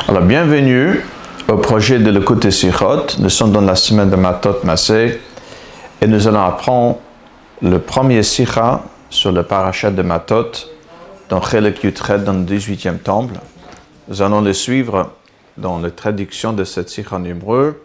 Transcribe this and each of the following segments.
Alors, bienvenue au projet de l'écoute Sichot. Nous sommes dans la semaine de Matot Massé et nous allons apprendre le premier Sicha sur le parachat de Matot dans Chelek Yutchet, dans le 18e temple. Nous allons le suivre dans la traduction de cette Sicha en hébreu,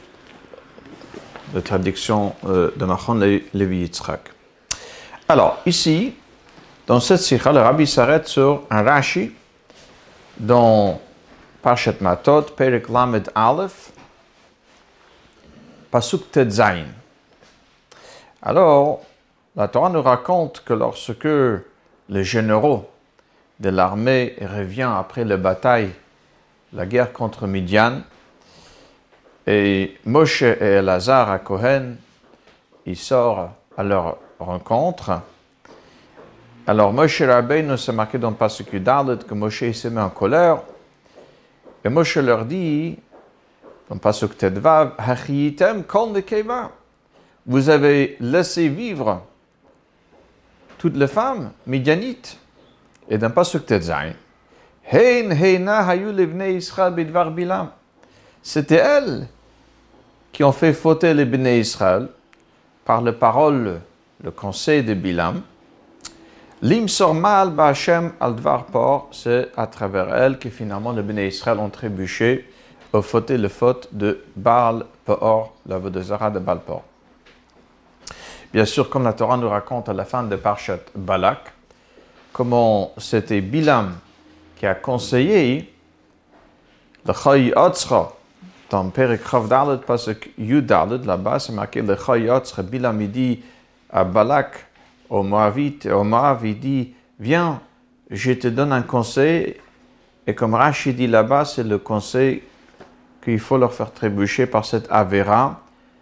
la traduction de Machon Levi Yitzchak. Alors, ici, dans cette Sicha, le Rabbi s'arrête sur un Rashi dans Parashat Matot, Perek Lamed Aleph, Pasuk Tet Zayin. Alors, la Torah nous raconte que lorsque les généraux de l'armée reviennent après la bataille, la guerre contre Midian, et Moshe et Elazar à Kohen, ils sortent à leur rencontre. Alors, Moshe Rabbeinu s'est marqué dans le Pasuk Yudalet que Moshe s'est mis en colère. Et Moshe leur dit, dans le Pasuk Tedvav, Hachiyitem kol nekeva. Vous avez laissé vivre toutes les femmes midianites. Et dans le Pasuk Tedzayin, Hein heina hayu levnei Israël bidvar Bilam. C'était elles qui ont fait fauter les Bnei Israël par les paroles, le conseil de Bilam. Lim sormal ba'Hashem al dvar por, c'est à travers elle que finalement les Bnei Israël ont trébuché au fauté le faute de Baal Peor, la Vodazara de Baal Peor. Bien sûr, comme la Torah nous raconte à la fin de Parshat Balak, comment c'était Bilam qui a conseillé le Chayi Otzra dans Perek Chav Dalet, parce que Yudalet, là-bas, c'est marqué le Chayi Otzra. Bilam, il dit à Balak, au Moavite, au Moav, il dit, viens, je te donne un conseil. Et comme Rashi dit là-bas, c'est le conseil qu'il faut leur faire trébucher par cette Avera,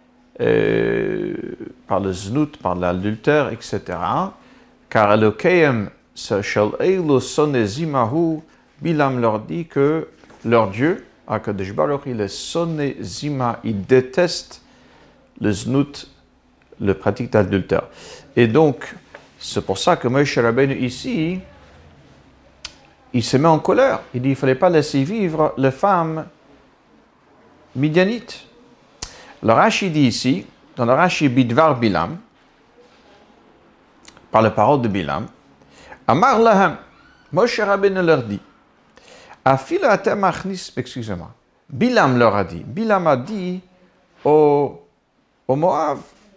par le Znout, par l'adultère, etc. Car Elokeim, Shel Eilu Sonezimahu, Bilam leur dit que leur Dieu, Akadosh Baruch, il est Sonezima, il déteste le Znout, le pratique d'adultère. Et donc, c'est pour ça que Moshe Rabbeinu ici, il se met en colère. Il dit qu'il ne fallait pas laisser vivre les femmes midianites. Le Rashi dit ici, dans le Rashi Bidvar Bilam, par les paroles de Bilam, Amar Lahem, Moshe Rabbeinu leur dit, Afila atem achnis, excusez-moi, Bilam leur a dit, Bilam a dit au Moav,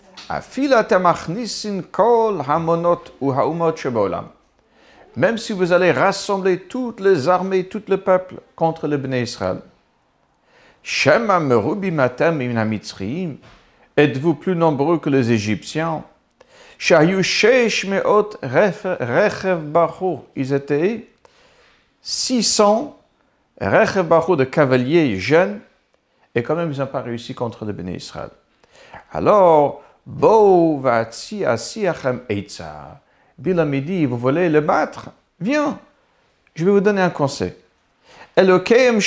même si vous allez rassembler toutes les armées, tout le peuple contre le Bnei Israël, êtes-vous plus nombreux que les Égyptiens? Ils étaient 600 de cavaliers jeunes, et quand même ils n'ont pas réussi contre le Bnei Israël. Alors, Bilam dit, vous voulez le battre? Viens, je vais vous donner un conseil. Leur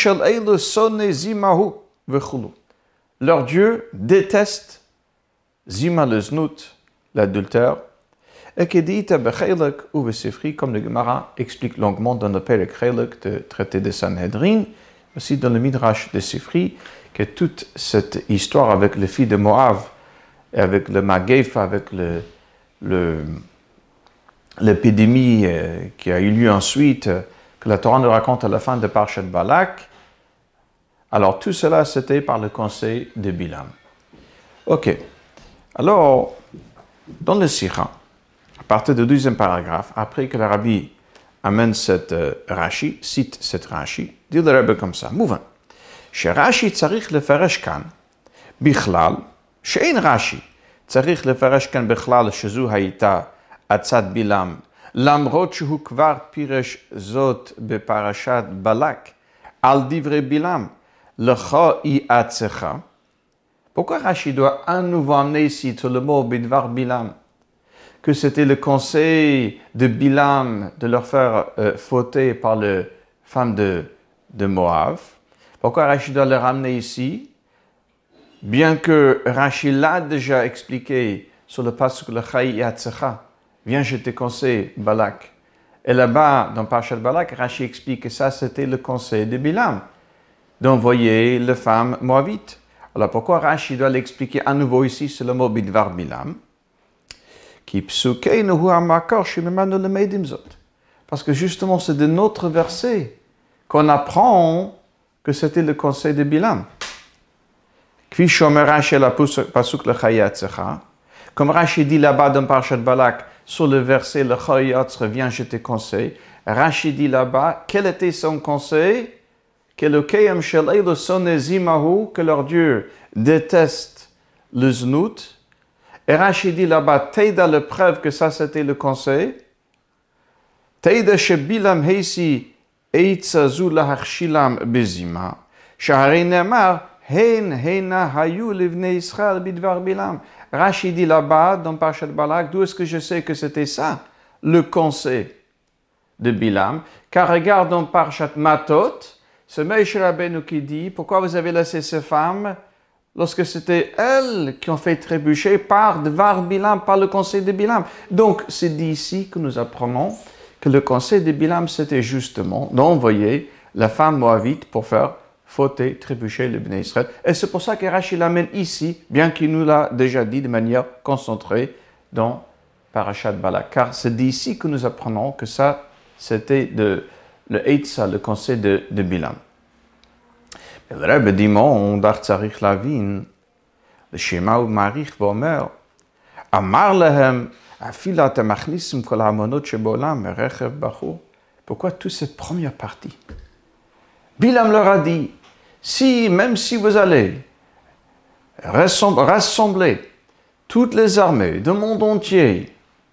Dieu déteste Zima le Znout, l'adultère, et qui dit, comme le Gemara explique longuement dans le Perek Chelek, le traité de Sanhedrin, aussi dans le Midrash de Sifri, que toute cette histoire avec les filles de Moab, avec le Magéfa, avec l'épidémie qui a eu lieu ensuite, que la Torah nous raconte à la fin de Parshat Balak. Alors tout cela, c'était par le conseil de Bilam. Ok. Alors, dans le Sicha, à partir du 12e paragraphe, après que le Rabbi amène cette Rashi, cite cette Rashi, dit le Rabbi comme ça, mouvant. Rashi tzarich lefaresh kan, bichlal, שאין רש"י צריך לפרש כאן בכלל שזו הייתה עצת בלעם, למרות שהוא כבר פירש זאת בפרשת בלק, על דברי בלעם, לך היא עצך. Pourquoi Rashi doit à nouveau amener ici sur le mot bidvar Bilam, que c'était le conseil de Bilam de leur faire fauter par les femmes de Moab? Pourquoi Rashi doit le ramener ici? Bien que Rashi l'a déjà expliqué sur le pasuk le Chayi Yatsecha, viens je te conseille Balak. Et là-bas, dans Parashat Balak, Rashi explique que ça c'était le conseil de Bilam. d'envoyer les femmes moabites. Alors pourquoi Rashi doit l'expliquer à nouveau ici, c'est le mot bidvar Bilam, qui psukeinu hu hamakor shememanu lemeidim zot. Parce que justement, c'est de notre verset qu'on apprend que c'était le conseil de Bilam. Kvi shomer Rashi la pasuk lechayatzecha. Comme Rashi dit là-bas dans Parashat Balak, sur le verset lechayatzecha, viens, je te conseille. Rashi dit là-bas, quel était son conseil? Que leur Dieu déteste le znout. Et Rashi dit là-bas, Teida le preuve que ça c'était le conseil. Teida shebilam heisi eitza zu laharshilam bezima. Shahari nemar hein heina hayu livne Israël bidvar bilam. Rashi dit là-bas dans Parashat Balak, d'où est-ce que je sais que c'était ça, le conseil de Bilam? Car regarde dans Parashat Matot, c'est Moshe Rabbeinu qui dit, pourquoi vous avez laissé ces femmes lorsque c'était elles qui ont fait trébucher par Dvar Bilam, par le conseil de Bilam. Donc, c'est d'ici que nous apprenons que le conseil de Bilam, c'était justement d'envoyer la femme moabite pour faire fauter, trébucher le Bnei Israël. Et c'est pour ça que Rashi l'amène ici, bien qu'il nous l'a déjà dit de manière concentrée dans Parashat Balak. Car c'est d'ici que nous apprenons que ça, c'était le Eitzah, le conseil de Bilam. Et le Rebbe dit, on dar tzarich lavin, le Shema ou Marich vomer, amar lehem, afilat amachnissim kol hamonot shebolam, rechev bachur. Pourquoi toute cette première partie? Bilam leur a dit, même si vous allez rassembler toutes les armées du monde entier,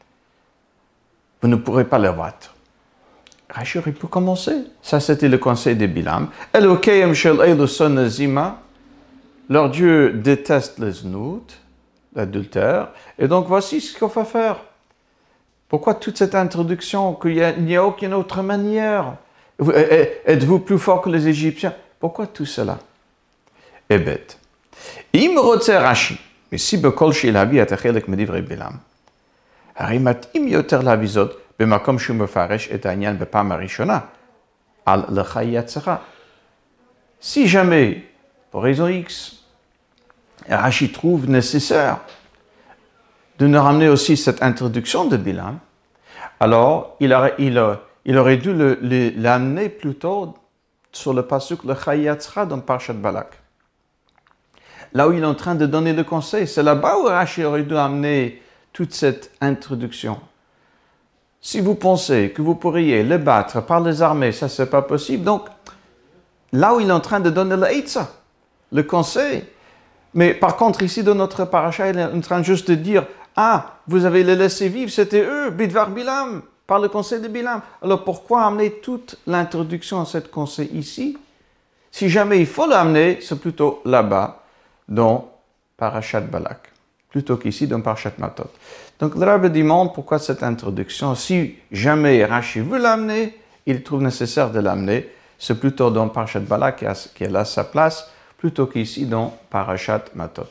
vous ne pourrez pas les battre. Rashi aurait pu commencer. Ça, c'était le conseil de Bilam. Elokeim shel elu son zima. Leur Dieu déteste les znout, l'adultère. Et donc, voici ce qu'il faut faire. Pourquoi toute cette introduction qu'il n'y a aucune autre manière? Êtes-vous plus fort que les Égyptiens? Pourquoi tout cela? Eh bête. Im rotze Rashi. Mais si bekol shel habi atachelek medivrei Bilam. Harimat im yoter lavizot. במקום שהוא מפרש את העניין בפעם הראשונה, על לחייצרה. Si jamais, pour raison X, Rashi trouve nécessaire de nous ramener aussi cette introduction de Bilam, alors il aurait dû l'amener plutôt sur le pasuk Lechayatzra dans Parashat Balak. Là où il est en train de donner le conseil, c'est là-bas où Rashi aurait dû amener toute cette introduction. Si vous pensez que vous pourriez les battre par les armées, ça c'est pas possible. Donc, là où il est en train de donner le Eitzah, le conseil. Mais par contre, ici, dans notre paracha, il est en train juste de dire, ah, vous avez les laissé vivre, c'était eux, Bidvar Bilam, par le conseil de Bilam. Alors pourquoi amener toute l'introduction à ce conseil ici? Si jamais il faut l'amener, c'est plutôt là-bas, dans Parashat Balak, plutôt qu'ici, dans Parashat Matot. Donc le Rabbi demande pourquoi cette introduction. Si jamais Rashi veut l'amener, il trouve nécessaire de l'amener. C'est plutôt dans Parashat Balak qui a sa place, plutôt qu'ici dans Parashat Matot.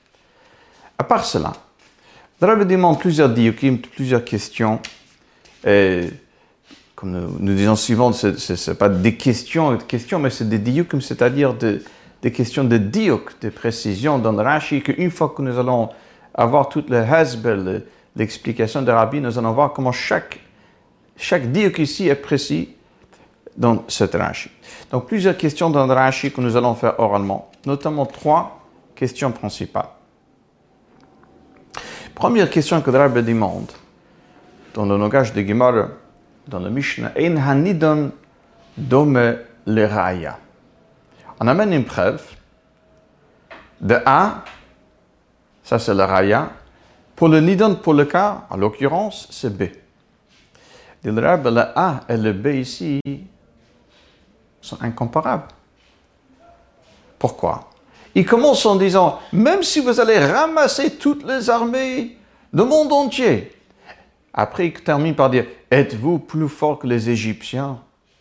À part cela, le Rabbi demande plusieurs diukim, plusieurs questions. Et, comme nous disons souvent, ce n'est pas des questions, mais c'est des diukim, c'est-à-dire des questions de diuk, de précision dans le Rashi, qu'une fois que nous allons avoir toute le hasbel, l'explication de Rabbi, nous allons voir comment chaque diuk ici est précis dans cette Rashi. Donc plusieurs questions dans le Rashi que nous allons faire oralement, notamment 3 questions principales. Première question que le Rabbi demande dans le langage de Gemara, dans le Mishnah, Ein hanidon dome le raya. On amène une preuve de A. Ça, c'est le raya. Pour le nidon, pour le cas, en l'occurrence, c'est B. Le A et le B ici sont incomparables. Pourquoi? Il commence en disant, même si vous allez ramasser toutes les armées du monde entier. Après, il termine par dire, êtes-vous plus fort que les Égyptiens?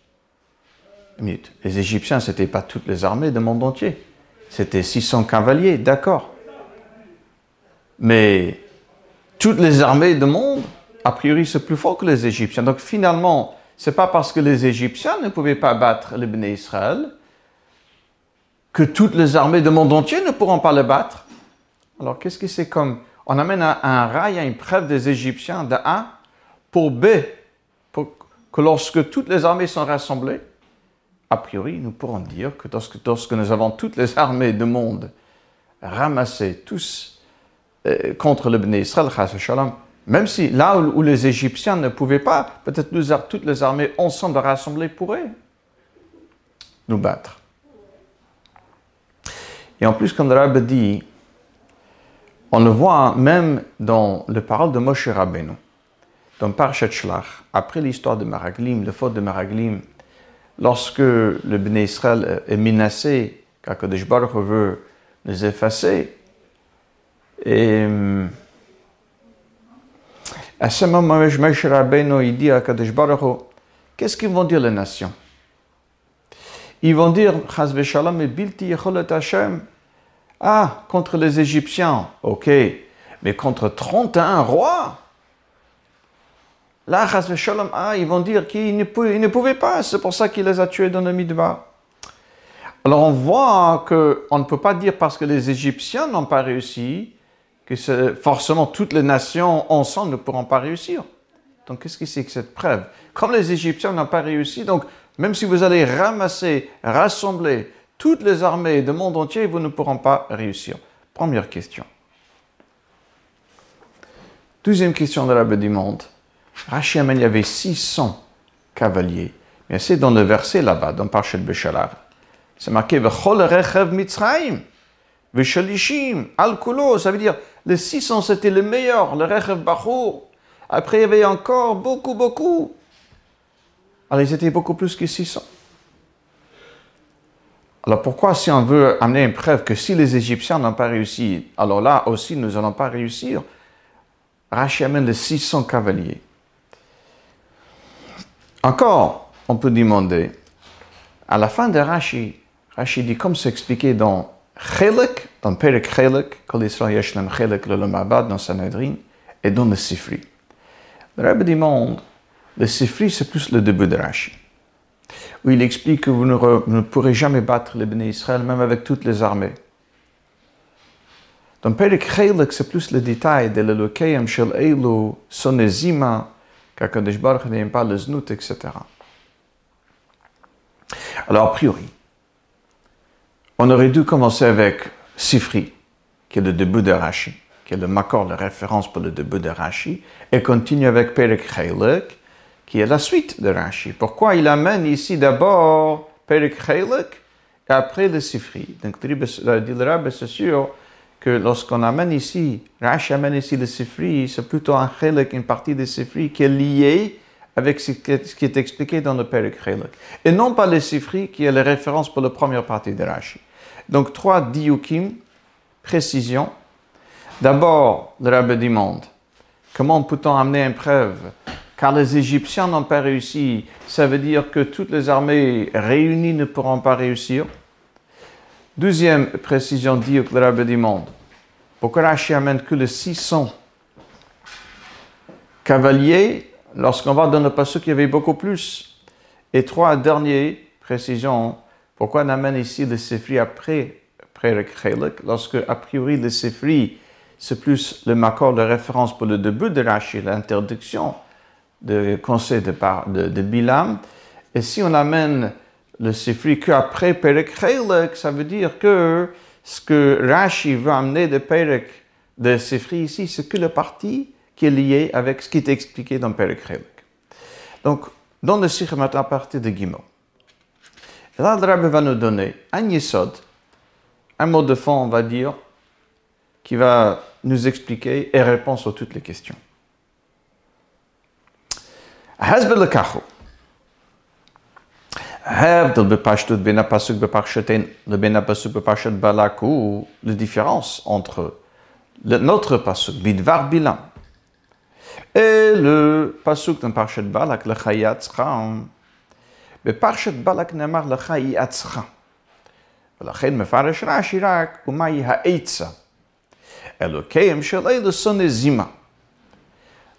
Les Égyptiens, ce n'étaient pas toutes les armées du monde entier. C'était 600 cavaliers, d'accord. Mais toutes les armées du monde, a priori, c'est plus fort que les Égyptiens. Donc finalement, ce n'est pas parce que les Égyptiens ne pouvaient pas battre le Bnei Israël que toutes les armées du monde entier ne pourront pas le battre. Alors, qu'est-ce que c'est comme? On amène un rail à une preuve des Égyptiens de A pour B, pour que lorsque toutes les armées sont rassemblées, a priori, nous pourrons dire que lorsque nous avons toutes les armées du monde ramassées, tous contre le Bnei Israël, même si là où les Égyptiens ne pouvaient pas, peut-être toutes les armées ensemble rassemblées pourraient nous battre. Et en plus, comme le Rabbi dit, on le voit même dans les paroles de Moshe Rabbeinu, dans Parashat Shlach, après l'histoire de Meraglim, le faute de Meraglim, lorsque le Bnei Israël est menacé, qu'Akadosh Baruch Hu veut les effacer, et à ce moment, Moshe Rabbeinu, il dit à Akadosh Baruch Hu, qu'est-ce qu'ils vont dire les nations? Ils vont dire, Chas v'shalom et bilti yecholet Hashem. Ah, contre les Égyptiens, ok, mais contre 31 rois? Là, Chas v'shalom, ils vont dire qu'ils ne pouvaient pas, c'est pour ça qu'il les a tués dans le Midbar. Alors on voit qu'on ne peut pas dire parce que les Égyptiens n'ont pas réussi, que forcément toutes les nations ensemble ne pourront pas réussir. Donc qu'est-ce que c'est que cette preuve? Comme les Égyptiens n'ont pas réussi, donc même si vous allez rassembler toutes les armées du monde entier, vous ne pourront pas réussir. Première question. Deuxième question de Rabbi du monde. Rashi amène, il y avait 600 cavaliers. Mais c'est dans le verset là-bas, dans Parashat Beshalach. C'est marqué « V'chol rechev Mitzrayim, v'shalishim, al-kulo ». Ça veut dire, les 600 c'était le meilleur, le rechev Bachur. Après, il y avait encore beaucoup. Alors, ils étaient beaucoup plus que 600. Alors, pourquoi si on veut amener une preuve que si les Égyptiens n'ont pas réussi, alors là aussi, nous n'allons pas réussir, Rashi amène les 600 cavaliers. Encore, on peut demander, à la fin de Rashi dit, comme c'est expliqué dans Chelek, dans Perek Chelek, Kol Yisrael Yeshlem Chelek L'Olam Abad, dans Sanhedrin, et dans le Sifri. Le Rabbi demande, le Sifri, c'est plus le début de Rashi, où il explique que vous ne pourrez jamais battre les Bnei Israël, même avec toutes les armées. Dans Perek Chelek, c'est plus le détail de l'Elokayim Shel Eilu, Sonezima, qu'Akadosh Baruch Hu n'aime pas le Znout, etc. Alors, a priori, on aurait dû commencer avec Sifri, qui est le début de Rashi, qui est le makor, la référence pour le début de Rashi, et continue avec Perek Chelek, qui est la suite de Rashi. Pourquoi il amène ici d'abord Perek Chelek et après le Sifri? Donc, le Rabbi, c'est sûr que lorsqu'on amène ici, Rashi amène ici le Sifri, c'est plutôt un Chelek, une partie de Sifri qui est liée avec ce qui est expliqué dans le Perek Chelek. Et non pas le Sifri qui est la référence pour la première partie de Rashi. Donc, 3 diukim, précision. D'abord, le Rabbi demande, comment peut-on amener une preuve? Car les Égyptiens n'ont pas réussi, ça veut dire que toutes les armées réunies ne pourront pas réussir. Deuxième précision, dit que le Rabbi demande, pourquoi Rashi amène que les 600 cavaliers, lorsqu'on va dans le passage, il y avait beaucoup plus. Et 3 dernières précisions, pourquoi on amène ici le Sifri après Perek Chelek, lorsque a priori le Sifri, c'est plus le makor de référence pour le début de Rashi, l'introduction de conseil de Bilam. Et si on amène le Sifri qu'après Perek Chelek, ça veut dire que ce que Rashi veut amener de Sifri ici, c'est que la partie qui est liée avec ce qui est expliqué dans Perek Chelek. Donc, dans le Sikh maintenant à partir de Gimel. Et là, le Rabbi va nous donner un yesod, un mot de fond, on va dire, qui va nous expliquer et répondre à toutes les questions. Hasbe lekachu. Hebdel bepashtut ben apasuk bepashaten le ben apasuk bepashat balak ou la différence entre notre pasuk bidvar bilam et le pasuk dans Parashat Balak le chayatzcha. בפרשת בלק נאמר לך יעצך, ולכן מפרש רש"י רק ומהי העצה, אלוקיהם של אלו שונא זימה.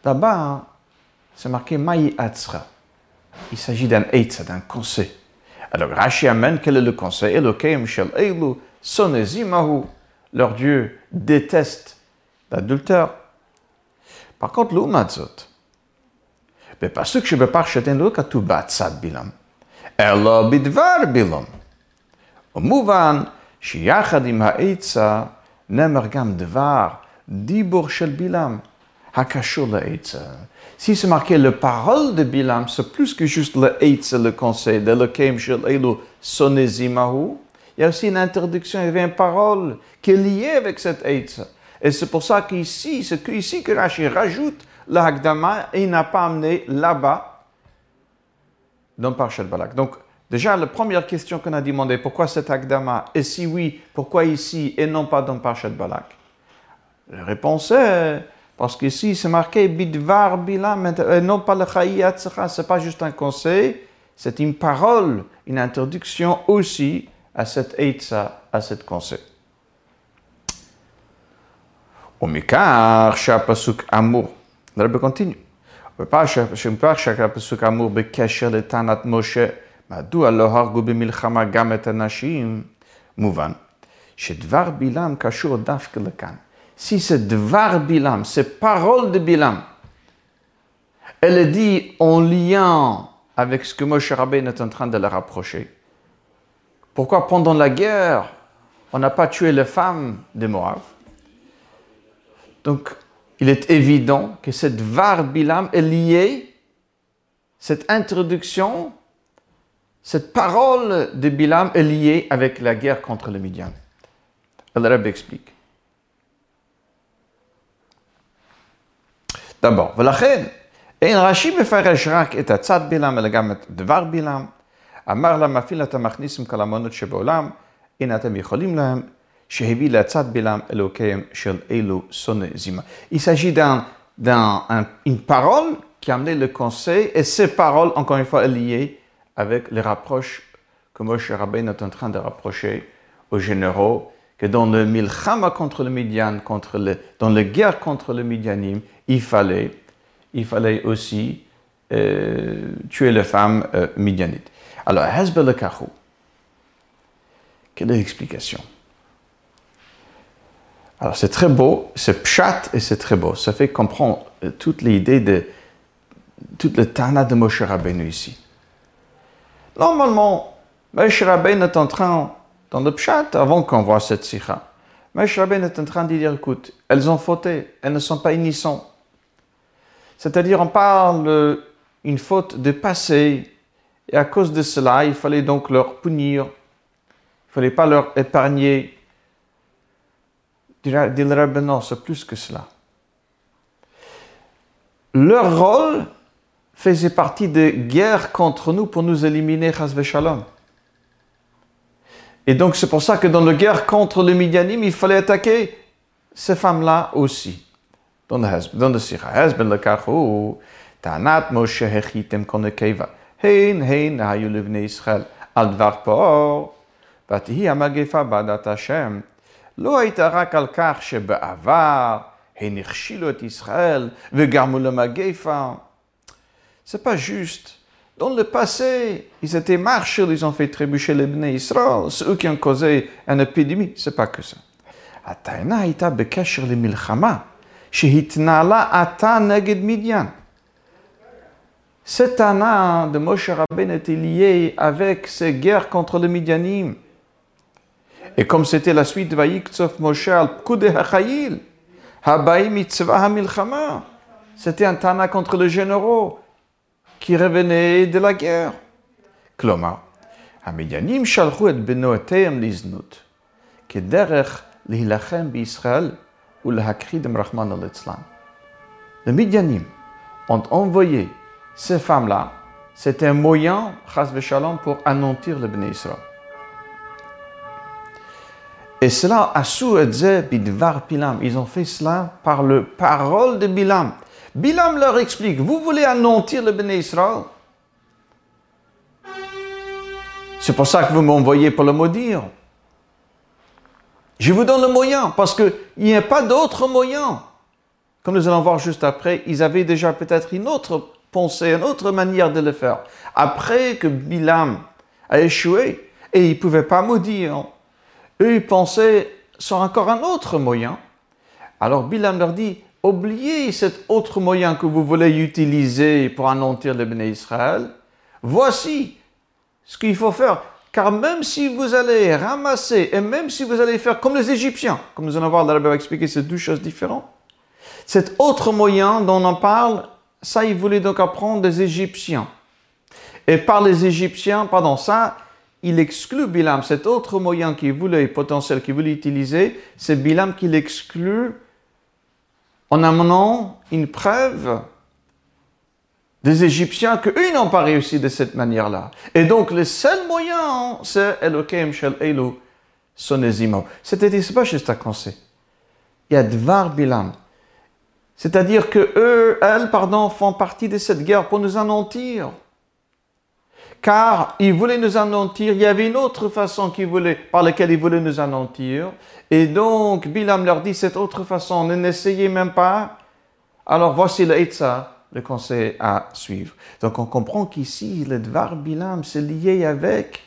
Là-bas, c'est marqué מהי עצך. Il s'agit d'un eitza, d'un conseil. Alors Rashi amène quel est le conseil? Elokeim shel eilu sonezimahu. Leur Dieu déteste l'adultère. Par contre, l'umatzot, בפסוק שבפרשתנו לא כתוב בעצת בלעם, אלא בדבר בלעם. ומובן שיחד עם העצה נאמר גם דבר, דיבור של בלעם, הקשור לעצה. Si c'est marqué le parole de Bilam, c'est plus que juste le Eitz, le conseil de Elokeim shel eilu sonezimahu. Il y a aussi une introduction, il y avait une parole qui est liée avec cette Eitz. Et c'est pour ça qu'ici, c'est ici que Rashi rajoute la Hakdama et il n'a pas amené là-bas dans Parshat Balak. Donc, déjà, la première question qu'on a demandé, pourquoi cette Hakdama? Et si oui, pourquoi ici et non pas dans Parshat Balak? La réponse est, parce qu'ici, c'est marqué Bidvar Bilam, et non pas le Chayi Hatzacha. Ce n'est pas juste un conseil, c'est une parole, une introduction aussi à cette Eitza, à cette conseil. ומכך שהפסוק אמור, הרב continue, ומכך שהפסוק אמור בקשר לטענת משה, מדוע לא הרגו במלחמה גם את הנשים, מובן, שדבר בלעם קשור דווקא לכאן. Si c'est דבר בלעם, c'est parole de Bilam, elle est dit en lien avec ce que Moshe Rabbeinu est en train de leur rapprocher. Pourquoi pendant la guerre, on n'a pas tué les femmes de Moab? Donc, il est évident que cette Var Bilam est liée, cette introduction, cette parole de Bilam est liée avec la guerre contre le Midian. Le Rebbe explique. d'abord, ולכן, אין רש"י מפרש רק את עצת בלעם, אלא גם את דבר בלעם. אמר לה, מפעיל אתה מכניסם כל המונות שבעולם, אין אתם יכולים להם, שהביא לעצת בלעם אלוקיהם של אלו שונא זימה. Il s'agit d'une parole qui a amené le conseil, et ces paroles, encore une fois, liées avec les rapproches que Moshe Rabbeinu est en train de rapprocher aux généraux, que dans le milchama contre le Midian, dans la guerre contre le Midianim, il fallait aussi tuer les femmes midianites. Alors, Hezbollah le Kachou, quelle est l'explication? Alors, c'est très beau, c'est pshat et c'est très beau. Ça fait comprendre toute l'idée de toute le Tana de Moshe Rabbeinu ici. Normalement, Moshe Rabbeinu est en train, dans le pshat, avant qu'on voit cette sikha, Moshe Rabbeinu est en train de dire, écoute, elles ont fauté, elles ne sont pas innocentes. C'est-à-dire, on parle d'une faute de passé, et à cause de cela, il fallait donc leur punir, il ne fallait pas leur épargner. Dit le Rebbe, non, c'est plus que cela. Leur rôle faisait partie de guerre contre nous pour nous éliminer, chas v'shalom. Et donc c'est pour ça que dans la guerre contre les Midianim, il fallait attaquer ces femmes-là aussi. Dans le Sikha, Hezbollah le Kachou, Tanat Moshe hechitem konekeva, hein hayu levnei Israël, al dvar poor, vatihi amagefa badat Hashem. לא הייתה רק על כך שבעבר הם הכשילו את ישראל וגרמו למגפה. C'est pas juste. Dans le passé, ils étaient marchés, ils ont fait trébucher les Bnei Israël, c'est eux qui ont causé une épidémie, c'est pas que ça. הטענה הייתה בקשר למלחמה שהתנהלה עתה נגד מדיין. Cette טענה de Moshe Rabbeinu était liée avec ces guerres contre les Midianim. Et comme c'était la suite de Vayiktsov Moshe al Pkude HaChayil, Habaï Mitzvah HaMilchama, c'était un tana contre les généraux qui revenaient de la guerre. Klomar, Hamidianim shalchu et benoteim liznut, kederech lihilachem b'Israël ou lahakridem Rahman al-Etzlan. Les Midianim ont envoyé ces femmes-là, c'était un moyen, chas v'shalom, pour anéantir le Bnei Israël. Et cela, Asou et Zé, Bidvar Bilam, ils ont fait cela par la parole de Bilam. Bilam leur explique, vous voulez anéantir le Bnei Israël? C'est pour ça que vous m'envoyez pour le maudire. Je vous donne le moyen, parce qu'il n'y a pas d'autre moyen. Comme nous allons voir juste après, ils avaient déjà peut-être une autre pensée, une autre manière de le faire. Après que Bilam a échoué et ils ne pouvaient pas maudire. Eux, ils pensaient sur encore un autre moyen. Alors Bilam leur dit, oubliez cet autre moyen que vous voulez utiliser pour anéantir le Béné Israël. Voici ce qu'il faut faire. Car même si vous allez ramasser et même si vous allez faire comme les Égyptiens, comme nous allons voir, le Rabbi va expliquer, c'est deux choses différentes. Cet autre moyen dont on parle, ça, il voulait donc apprendre des Égyptiens. Et par les Égyptiens, pardon, ça, il exclut Bilam. Cet autre moyen qu'il voulait, potentiel qu'il voulait utiliser, c'est Bilam qui l'exclut en amenant une preuve des Égyptiens qu'eux, ils n'ont pas réussi de cette manière-là. Et donc, le seul moyen, c'est Elokeim Shel Elu Sonezimo. C'est-à-dire, c'est pas juste à penser. Il y a Dvar Bilam. C'est-à-dire que elles, font partie de cette guerre pour nous anéantir. Car ils voulaient nous anéantir, il y avait une autre façon par laquelle ils voulaient nous anéantir. Et donc, Bilam leur dit, cette autre façon, ne n'essayez même pas. Alors, voici le Eitzah, le conseil à suivre. Donc, on comprend qu'ici, le Dvar Bilam, c'est lié avec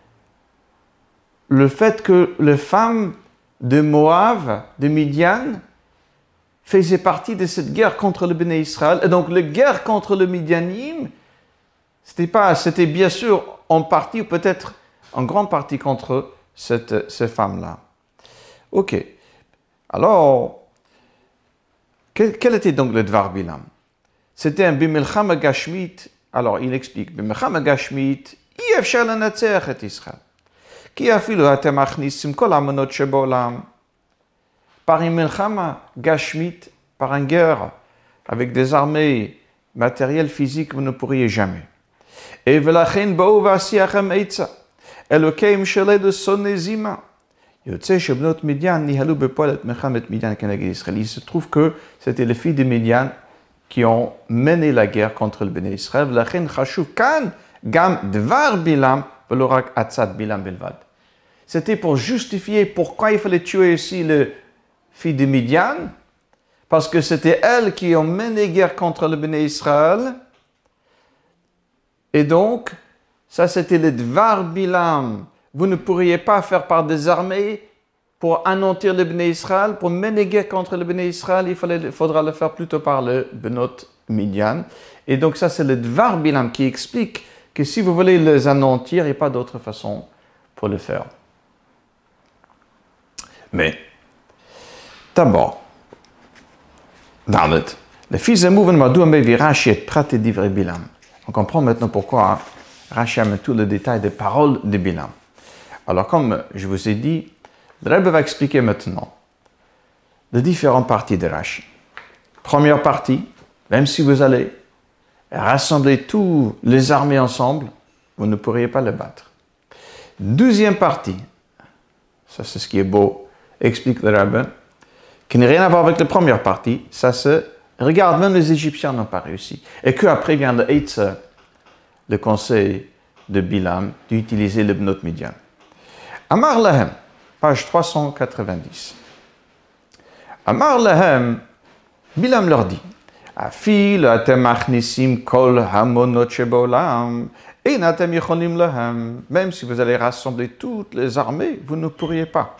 le fait que les femmes de Moab, de Midian, faisaient partie de cette guerre contre le Béné Israël. Et donc, la guerre contre le Midianim, c'était bien sûr en partie, ou peut-être en grande partie contre ces femmes-là. Ok. Alors, quel était donc le Dvar Bilam? C'était un Bimilchama Gashmit. Alors, il explique, Bimilchama Gashmit, אי אפשר לנצח את ישראל. כי אפילו אתם מכניסים כל האמונות שבעולם. Par une Milchama Gashmit, par une guerre, avec des armées matérielles, physiques, vous ne pourriez jamais. Et ולכן בואו ועשיכם עצה, אלוקים שלנו שונא זימה. יוצא שבנות מדיין ניהלו בפועל את מלחמת מדיין כנגד ישראל. Il se trouve que c'était les filles de Midian qui ont mené la guerre contre le Béné Israël. ולכן חשוב כאן גם דבר בלעם ולא רק עצת בלעם בלבד. C'était pour justifier pourquoi il fallait tuer aussi les filles de Midian, parce que c'était elles qui ont mené guerre contre le Béné Israël. Et donc, ça c'était le Dvar Bilam. Vous ne pourriez pas faire par des armées pour anéantir le Béné Israël, pour mener guerre contre le Béné Israël, il faudra le faire plutôt par le Benot Midian. Et donc ça c'est le Dvar Bilam qui explique que si vous voulez les anéantir, il n'y a pas d'autre façon pour le faire. Mais, d'abord, Dalet, le fils de Mouven Madou Mevi Rashi et Praté d'Ivre Bilam. On comprend maintenant pourquoi Rashi a mis tout le détail des paroles de Bilam. Alors, comme je vous ai dit, le Rebbe va expliquer maintenant les différentes parties de Rashi. Première partie, même si vous allez rassembler toutes les armées ensemble, vous ne pourriez pas les battre. Deuxième partie, ça c'est ce qui est beau, explique le Rebbe, qui n'a rien à voir avec la première partie, ça c'est, regarde, même les Égyptiens n'ont pas réussi. Et qu'après vient le Eitzah, le conseil de Bilam, d'utiliser le Bnot Midian. Amar Lahem, page 390. Amar Lahem, Bilam leur dit, Afil atem machnisim kol hamonot shebolam, et natem yecholim lahem. Même si vous allez rassembler toutes les armées, vous ne pourriez pas.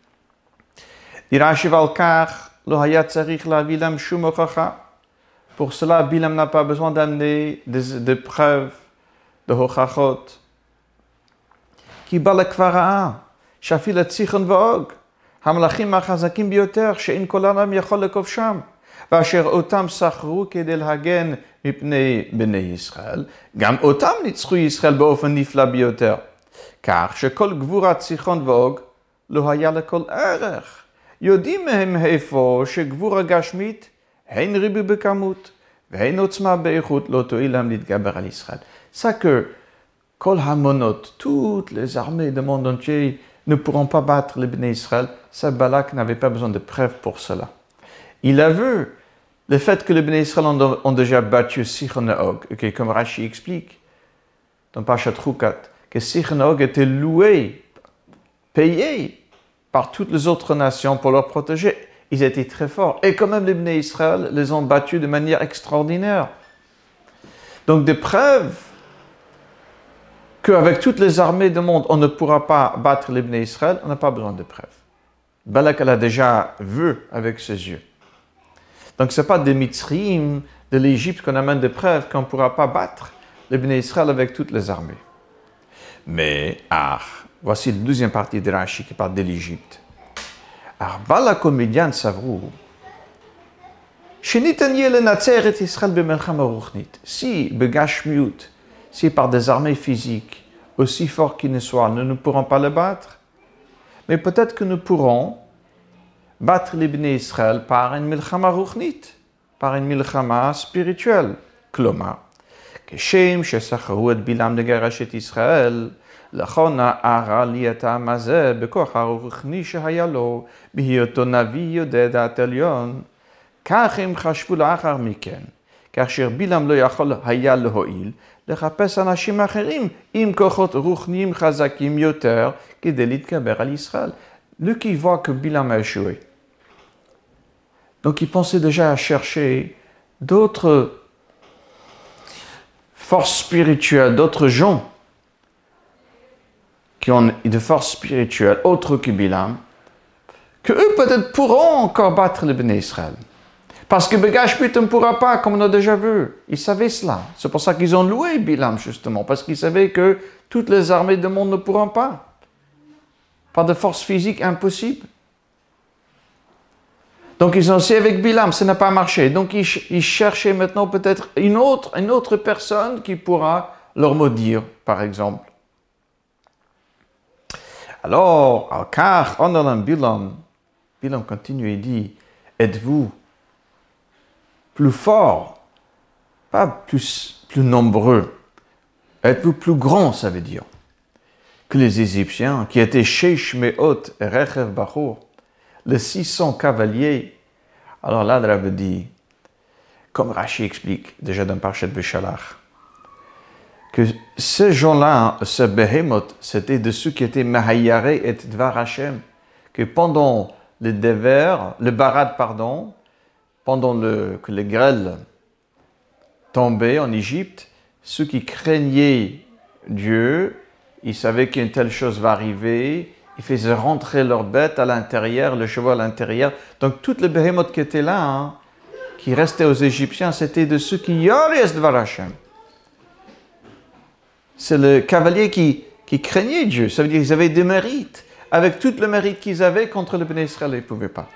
Pour cela, Bilam n'a pas besoin d'amener des preuves de hochachot. Ki balakvara, shafil atzichon vaog, hamlachim achazakim bioter, she'in kolanam yachol lekofsham, ואשר אותם סחרו כדי להגן מפני בני ישראל, גם אותם ניצחו ישראל באופן נפלא ביותר, כך שכל גבורת סיחון ואוג לא היה לכל ערך. יודעים מהם איפה שגבורה גשמית הן ריבוי בכמות והן עוצמה באיכות לא תועיל להם להתגבר על ישראל. Ça que כל המונות, toutes les armées du monde entier ne pourront pas battre les Bnei Israël, ça Balak n'avait pas besoin de preuves pour cela. Il a vu le fait que les Bnei Israël ont déjà battu Sichon et Og, okay, comme Rashi explique dans Parashat Chukat, que Sichon et Og étaient loués, payés par toutes les autres nations pour leur protéger. Ils étaient très forts. Et quand même, les Bnei Israël les ont battus de manière extraordinaire. Donc, des preuves qu'avec toutes les armées du monde, on ne pourra pas battre les Bnei Israël, on n'a pas besoin de preuves. Balak l'a déjà vu avec ses yeux. Donc ce n'est pas des Mitzrim de l'Égypte qu'on amène des preuves qu'on ne pourra pas battre les Bnei Israël avec toutes les armées. Mais, voici la deuxième partie de Rashi qui parle de l'Égypte. Balak et Midian savrou. Si, begashmiut, si par des armées physiques, aussi forts qu'ils ne soient, nous ne pourrons pas le battre, mais peut-être que nous pourrons battre les Bnei Israël par une milchama ruchnit, par une milchama spirituelle. Klomar, כשם שסחרו את בלעם לגרש את ישראל, לכון הערה לי את העם הזה בכוח הרוחני שהיה לו, בהיותו נביא יודע דעת עליון, כך הם חשבו לאחר מכן, כאשר בלעם לא יכול היה להועיל, לחפש אנשים אחרים עם כוחות רוחניים חזקים יותר, כדי להתגבר על ישראל. Lui qui voit que Bilam a échoué. Donc il pensait déjà à chercher d'autres forces spirituelles, d'autres gens qui ont de forces spirituelles autres que Bilam, que eux peut-être pourront encore battre les Bnei Israël. Parce que Begashmut ne pourra pas, comme on a déjà vu. Ils savaient cela. C'est pour ça qu'ils ont loué Bilam, justement, parce qu'ils savaient que toutes les armées du monde ne pourront pas. Par de force physique impossible. Donc ils ont essayé avec Bilam, ça n'a pas marché. Donc ils cherchaient maintenant peut-être une autre personne qui pourra leur maudire, par exemple. Alors, car on a Bilam continue et dit, êtes-vous plus fort, pas plus nombreux, êtes-vous plus grand, ça veut dire, que les Égyptiens qui étaient Sheish Meot et Rechev Bachour, les 600 cavaliers. Alors là, le Rabbi dit, comme Rashi explique déjà dans Parashat Beshalach, que ces gens-là, ce Behemoth, c'était de ceux qui étaient Mahayare et Dvar Hashem, que pendant le Barad, pendant que les grêles tombaient en Égypte, ceux qui craignaient Dieu, ils savaient qu'une telle chose va arriver, ils faisaient rentrer leurs bêtes à l'intérieur, le cheval à l'intérieur. Donc, toutes les behemoths qui étaient là, qui restaient aux Égyptiens, c'était de ceux qui Yores Dvar Hashem. C'est le cavalier qui craignait Dieu. Ça veut dire qu'ils avaient des mérites. Avec tout le mérite qu'ils avaient contre le Bnei Israël, ils ne pouvaient pas.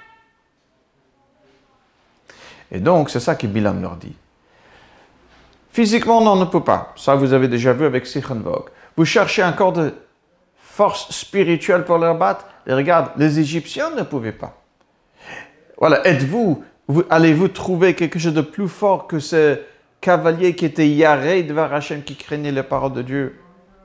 Et donc, c'est ça que Bilam leur dit. Physiquement, non, on ne peut pas. Ça, vous avez déjà vu avec Sichon Vog. Vous cherchez encore de force spirituelle pour leur battre. Et regarde, les Égyptiens ne pouvaient pas. Voilà, allez-vous trouver quelque chose de plus fort que ce cavalier qui était Yaré devant Hachem, qui craignait les paroles de Dieu?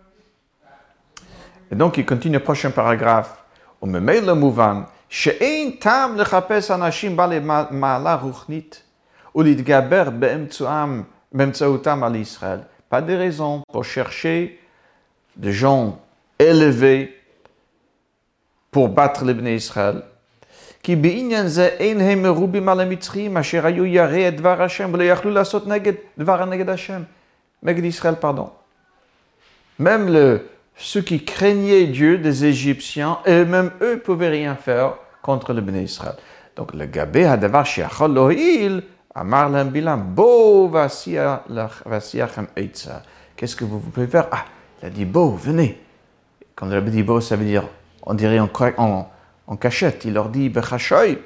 Et donc, il continue le prochain paragraphe. On me met le mouvant. שאין טעם לחפש אנשים בעלי מעלה רוחנית ולהתגבר באמצעותם על ישראל. Pas de raison pour chercher des gens élevés pour battre les Bnei Israël. כי בעניין זה אין הם מרובים על המצרים אשר היו יראי את דבר השם ולא יכלו לעשות נגד השם. נגד ישראל, pardon. Même ceux qui craignaient Dieu, des Égyptiens, et même eux ne pouvaient rien faire contre le Bnei Israël. Donc, le Gabé Hadavar Shiachol Lohil, Amar Lam Bilam, Bo Vasiachem Eitza. Qu'est-ce que vous pouvez faire? Ah, il a dit Bo, venez. Quand le Rabbi dit Bo, ça veut dire, on dirait en cachette. Il leur dit Bechashoy.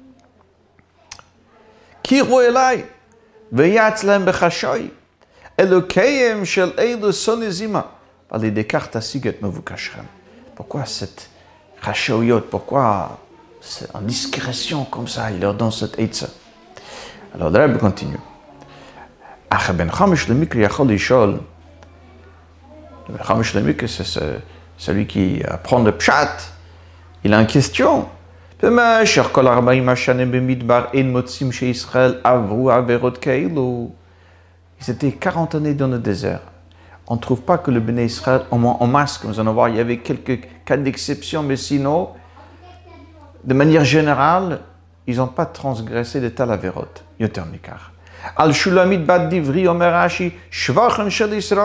Kiru Elai, Veyatzlem Bechashoy, Elokayem Shel Eilu Sonizima. Parlez des cartes à Siget Mevukashrem. Pourquoi cette Rachoyot? Pourquoi c'est en discrétion comme ça? Il leur donne cette Eitza. Alors, le Rabbi continue. Ach ben Chamish le Mikri Yachol Ishol. Le ben Chamish le Mikri, c'est celui qui apprend le Pshat. Il a une question. במשך כל 40 השנים במדבר אין מוצאים שישראל עברו עבירות כאלו. Ils étaient 40 années dans le désert. On ne trouve pas que le Bnei Israël, en masse, comme vous allez voir, il y avait quelques cas d'exception, mais sinon, de manière générale, ils n'ont pas transgressé de telles avérotes. Yoter Nikar. Al Shulamit Bad Divri Omer Rashi, Shvachan Shel Israël,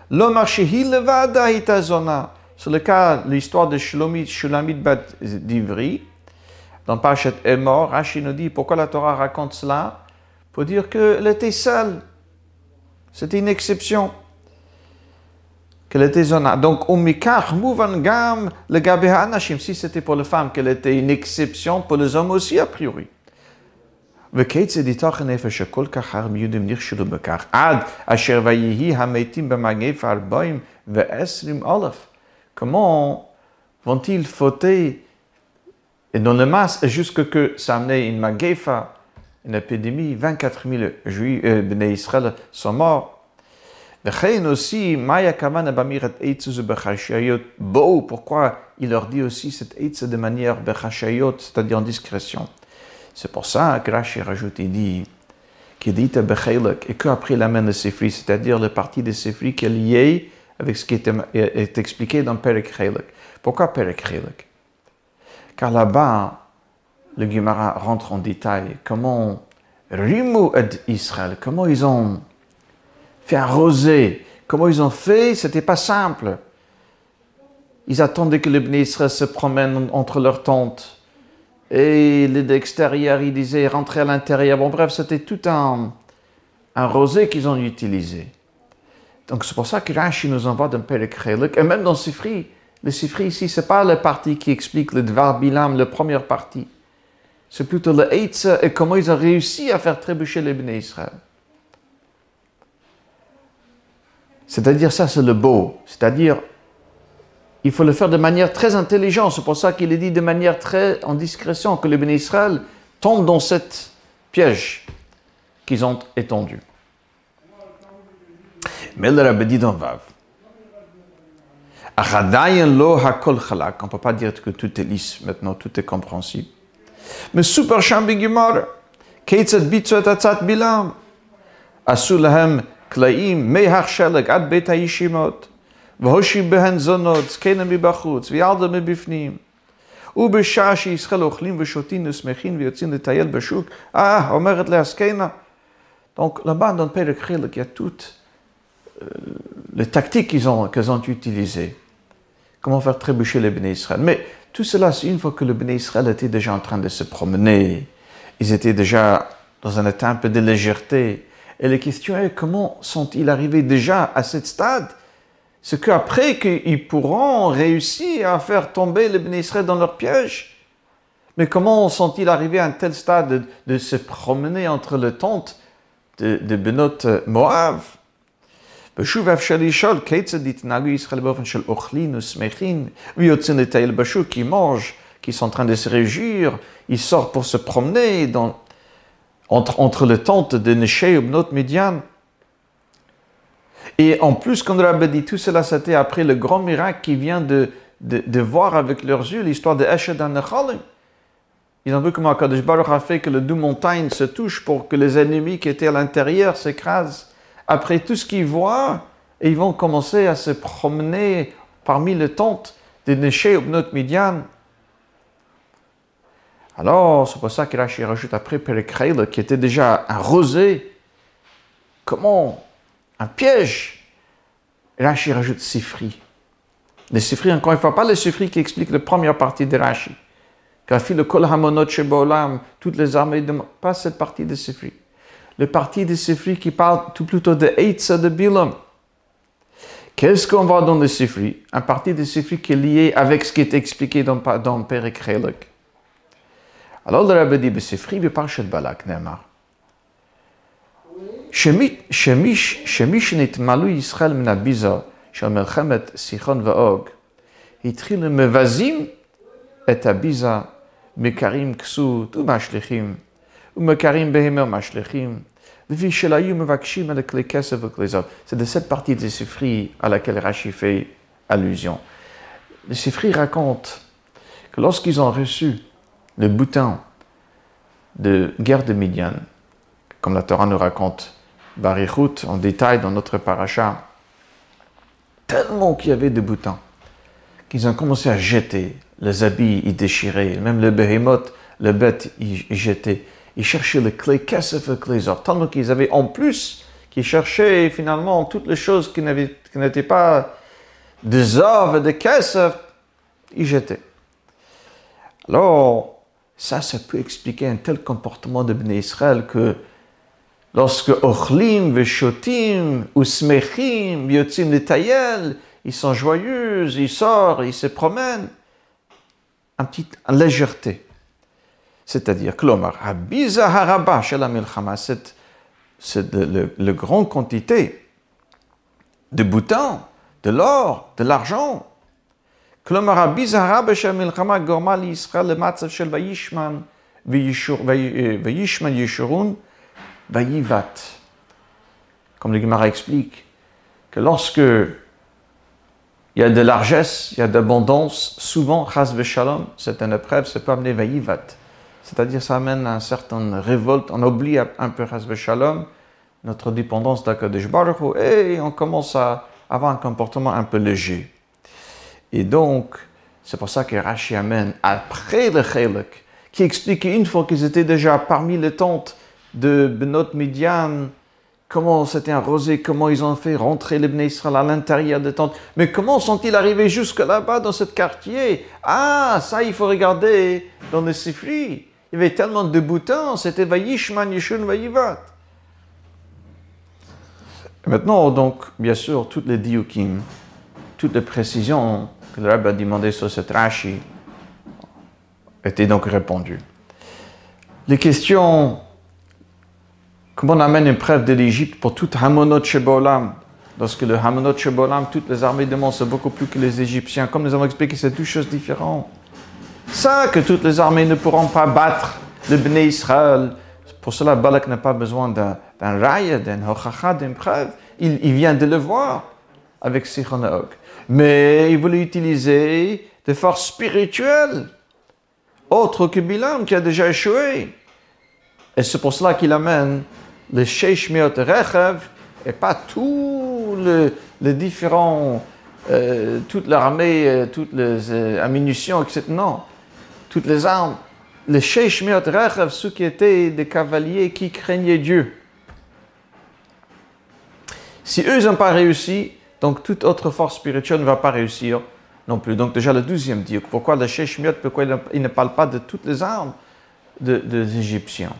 L'Omar Shehi Levada Hitazona. C'est le cas, l'histoire de Shulamit Bat Divri. Dans Parashat Emor, Rashi nous dit pourquoi la Torah raconte cela? Pour dire qu'elle était seule. C'était une exception. Qu'elle était zona. Donc, Umikach Mouvan Gam le Gabeha Anashim. Si c'était pour les femmes, qu'elle était une exception, pour les hommes aussi, a priori. וכיצד ייתכן נפש שכל כך הרבה יהודים נכשלו בכך, עד אשר ויהי המתים במגפה 40,000. Comment vont-ils fauter et dans le masse jusqu'à que ça amenait une magefa, une épidémie, 24 000 juifs, Bnei Israël sont morts. וכן aussi, Maya Kavana Bamirat Eitzu Bechashayot, pourquoi il leur dit aussi cette Eitzu de manière Bechashayot, c'est-à-dire en discrétion. C'est pour ça que Rashi rajoute, il dit, qu'il dit Bechelek, et qu'après il amène le Sifri, c'est-à-dire le parti de Sifri qui est lié avec ce qui est expliqué dans Perek Chelek. Pourquoi Perek Chelek? Car là-bas, le Gemara rentre en détail comment Rimu et Israël, comment ils ont fait arroser, comment ils ont fait, c'était pas simple. Ils attendaient que les Bnei Israël se promènent entre leurs tentes. Et l'extérieur, ils disaient rentrer à l'intérieur. Bon, bref, c'était tout un rosé qu'ils ont utilisé. Donc, c'est pour ça que Rashi nous envoie dans Perek Chelek. Et même dans Sifri, le Sifri ici, ce n'est pas la partie qui explique le Dvar Bilam, la première partie. C'est plutôt le Eitz et comment ils ont réussi à faire trébucher les Bnei Israël. C'est-à-dire, ça, c'est le beau. C'est-à-dire, il faut le faire de manière très intelligente. C'est pour ça qu'il est dit de manière très en discrétion que les Bnei Israël tombent dans cette piège qu'ils ont étendu. Mais le Rabbi dit dans Vav, on ne peut pas dire que tout est lisse maintenant, tout est compréhensible. Mais super chambi Gemara, Keitzad bitzu et atzat bilam, asu lahem klaim mehach sheleg ad beit hayishimot. והושיב בהן זונות, זקנה מבחוץ, וילדה מבפנים. ובשעה שישראל אוכלים ושותים ושמחים ויוצאים לטייל בשוק, אומרת לה הזקנה. Donc là-bas, dans Perek Chelek, il y a toutes les tactiques qu'ils ont utilisées. Comment faire trébucher les Bnei Israël. Mais tout cela, c'est une fois que les Bnei Israël étaient déjà en train de se promener. Ils étaient déjà dans un état un peu de légèreté. Et la question est, comment sont-ils arrivés déjà à ce stade? C'est qu'après qu'ils pourront réussir à faire tomber les Bnei Israël dans leur piège. Mais comment sont-ils arrivés à un tel stade de se promener entre les tentes de Benot Moav? Qui mangent, qui sont en train de se réjouir, ils sortent pour se promener entre les tentes de Neshé et Benot Midian. Et en plus, comme le Rabbi dit, tout cela, c'était après le grand miracle qui vient de voir avec leurs yeux l'histoire de Eshed HaNechalim. Ils ont vu comment Akadosh Baruch a fait que les deux montagnes se touchent pour que les ennemis qui étaient à l'intérieur s'écrasent. Après tout ce qu'ils voient, ils vont commencer à se promener parmi les tentes de Neshé et Benot Midian. Alors, c'est pour ça que Rashi rajoute après Perek Chelek, qui était déjà un rosé. Comment? Un piège. Rashi rajoute Sifri. Le Sifri, encore une fois, pas le Sifri qui explique la première partie de Rashi. Kafi le Kol Hamonot Shebolam, toutes les armées de... Pas cette partie de Sifri. Le partie de Sifri qui parle tout plutôt de Eitza de Bilam. Qu'est-ce qu'on voit dans le Sifri? Un partie de Sifri qui est lié avec ce qui est expliqué dans Perek Chelek. Alors le Rabbi dit, Sifri beParshat Balak, Ne'amar. שמי שנתמלאו ישראל מן הביזה של מלחמת סיחון ואוג, התחילו מבזים את הביזה, מקרים כסות ומשליכים, ומקרים בהמה ומשליכים, לפי שלהיו מבקשים על כלי כסף וכלי זהב. C'est de cette partie de Sifri à laquelle Rashi fait allusion. Le Sifri raconte que lorsqu'ils ont reçu le butin de guerre de Midian, comme la Torah nous raconte, Barichut, en détail dans notre paracha, tellement qu'il y avait de boutons, qu'ils ont commencé à jeter, les habits, ils déchiraient, même le behemoth, le bête, ils jetaient, ils cherchaient le clé, qu'est-ce que les autres, tellement qu'ils avaient en plus, qui cherchaient finalement toutes les choses qui n'étaient pas des œuvres, des caisses, ils jetaient. Alors, ça peut expliquer un tel comportement de Bnei Israël que lorsque Ochlim, Veshotim, ou Smechim, Yotzim Letayel, ils sont joyeux, ils sortent, ils se promènent, en légèreté. C'est-à-dire, Klomar, Habiza Haraba Shel HaMilchama, c'est la grande quantité de boutons, de l'or, de l'argent. Klomar, Habiza Haraba Shel HaMilchama, Gorma l'Yisraël, le Matzav Shel Vayishman, Vayishman Yeshurun, Vayivat. Comme le Gemara explique, que lorsque il y a de largesse, il y a d'abondance, souvent, chas v'shalom, c'est une épreuve, ça peut amener vayivat. C'est-à-dire, ça amène à une certaine révolte, on oublie un peu chas v'shalom, notre dépendance d'Akadosh Baruch Hu, et on commence à avoir un comportement un peu léger. Et donc, c'est pour ça que Rashi amène, après le Chelek, qui explique une fois qu'ils étaient déjà parmi les tentes de Benot Midian, comment c'était arrosé, comment ils ont fait rentrer les Bnei Israël à l'intérieur des tentes. Mais comment sont-ils arrivés jusque là-bas dans ce quartier? Ah, ça, il faut regarder dans le Sifri. Il y avait tellement de boutons, c'était Vayishman, Yeshun, Vayivat. Maintenant, donc, bien sûr, toutes les diukim, toutes les précisions que le Rabbi a demandées sur cette Rashi étaient donc répondues. Les questions... Comment on amène une preuve de l'Égypte pour tout Hamonot Shebolam? Lorsque le Hamonot Shebolam, toutes les armées du monde, c'est beaucoup plus que les Égyptiens. Comme nous avons expliqué, c'est deux choses différentes. Ça, que toutes les armées ne pourront pas battre le Bnei Israël. Pour cela, Balak n'a pas besoin d'un raya, d'un hochacha, d'une preuve. Il vient de le voir avec Sichon et Og. Mais il voulait utiliser des forces spirituelles, autres que Bilam, qui a déjà échoué. Et c'est pour cela qu'il amène les Sheish Meot Rechev et pas tous les différents, toute l'armée, toutes les ammunitions, etc. Non, toutes les armes. Les Sheish Meot Rechev, ceux qui étaient des cavaliers qui craignaient Dieu. Si eux n'ont pas réussi, donc toute autre force spirituelle ne va pas réussir non plus. Donc déjà le 12e dit, pourquoi le Sheish Meot, pourquoi il ne parle pas de toutes les armes des Égyptiens?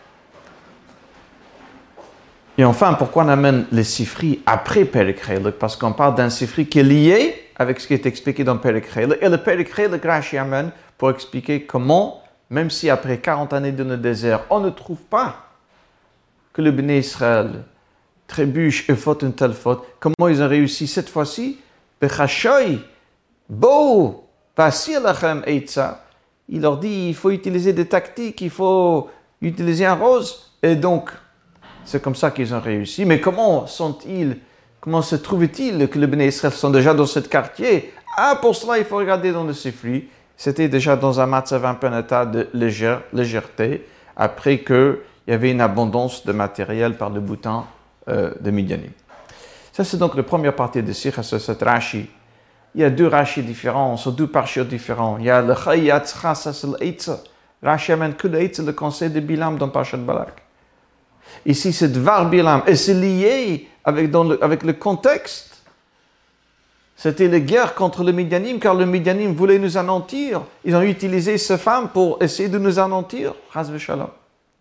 Et enfin, pourquoi on amène les Sifri après Perek Chelek? Parce qu'on parle d'un Sifri qui est lié avec ce qui est expliqué dans Perek Chelek. Et le Perek Chelek, Rashi amène pour expliquer comment, même si après 40 années dans le désert, on ne trouve pas que le Bnei Israël trébuche et faute une telle faute, comment ils ont réussi cette fois-ci? Bechashoy, bo, pasir lachem eitza. Il leur dit, il faut utiliser des tactiques, il faut utiliser un rose. Et donc, c'est comme ça qu'ils ont réussi. Mais comment se trouve-t-il que les Bnei Israël sont déjà dans ce quartier? Ah, pour cela, il faut regarder dans le Sifri. C'était déjà dans un matzav, un peu un état de légèreté, après qu'il y avait une abondance de matériel par le bouton de Midianim. Ça, c'est donc la première partie de Sikha sur cette Rashi. Il y a deux Rashi différents, sur deux parchiots différents. Il y a le Chayatzcha, ça c'est l'Eitza. Rashi amène que l'Eitza, le conseil de Bilam dans Parashat Balak. Ici, c'est Dvar Bilam, et c'est lié avec le contexte. C'était la guerre contre le Midianim, car le Midianim voulait nous anéantir. Ils ont utilisé ces femmes pour essayer de nous anéantir. Chas v'shalom.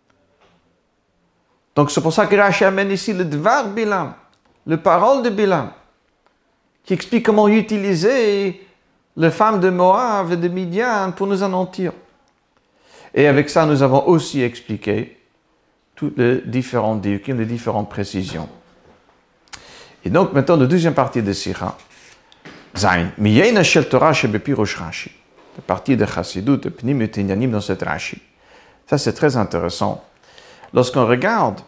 Donc, c'est pour ça que Rashi amène ici le Dvar Bilam, le parole de Bilam, qui explique comment utiliser les femmes de Moab et de Midian pour nous anéantir. Et avec ça, nous avons aussi expliqué toutes les différentes diukim, les différentes précisions. Et donc, maintenant, la deuxième partie de Sikha, Zain, Miyena Shel Torah Shebepirosh Rashi, la partie de Chassidut, de Pnim et Tinyanim dans cette Rashi. Ça, c'est très intéressant. Lorsqu'on regarde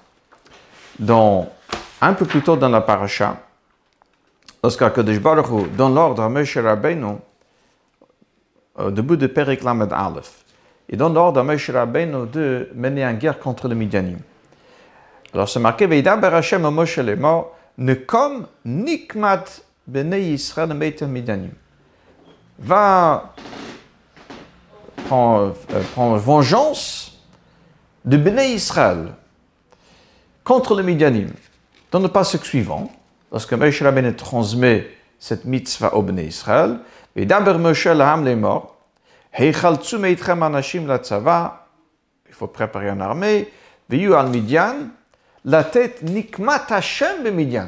un peu plus tôt dans la parasha, lorsqu'Akadosh Baruch Hu donne l'ordre à Moshe Rabbeinu, au début de Perek Lamed Aleph, il donne l'ordre à Moshe Rabbeinu de mener une guerre contre le Midianim. Alors c'est marqué, Veidaber Hashem à Moshe lemor, Nekom nikmat bnei Yisrael meitem Midianim. Va prendre vengeance de bnei Israël contre le Midianim. dans le passage suivant, lorsque Moshe Rabbeinu transmet cette mitzvah au Bnei Israël, et d'Aber Moshe l'Ham les morts, Heichaltsu meitchem anashim la tzava, il faut préparer une armée, Viyu al Midian, la tête nikmat Hashem be Midian.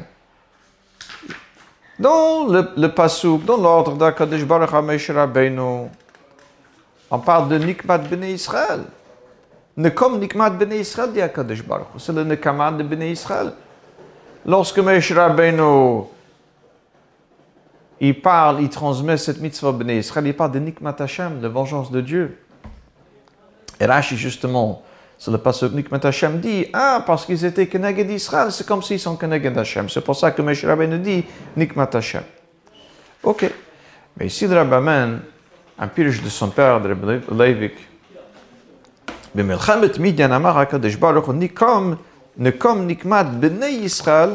Dans le pasuk, dans l'ordre d'Akadosh Baruch Moshe Rabbeinu, on parle de nikmat Bnei Israël. Nekom nikmat Bnei Israël dit Akadosh Baruch Hu, c'est le nekama de Bnei Israël. Lorsque Moshe Rabbeinu il parle, il transmet cette mitzvah au Bnei Israël, il parle de Nikmat Hashem, de vengeance de Dieu. Et Rashi, justement, sur le passage Nikmat Hashem dit, parce qu'ils étaient Keneged Israël, c'est comme s'ils sont Keneged Hashem. C'est pour ça que Moshe Rabbeinu dit Nikmat Hashem. Ok. Mais ici, le Rabbi amène un pirush de son père, de Rabbi Leivik. B'melchamet Midian amar HaKadosh Baruch Hu, nekom nikmat b'nei Israël,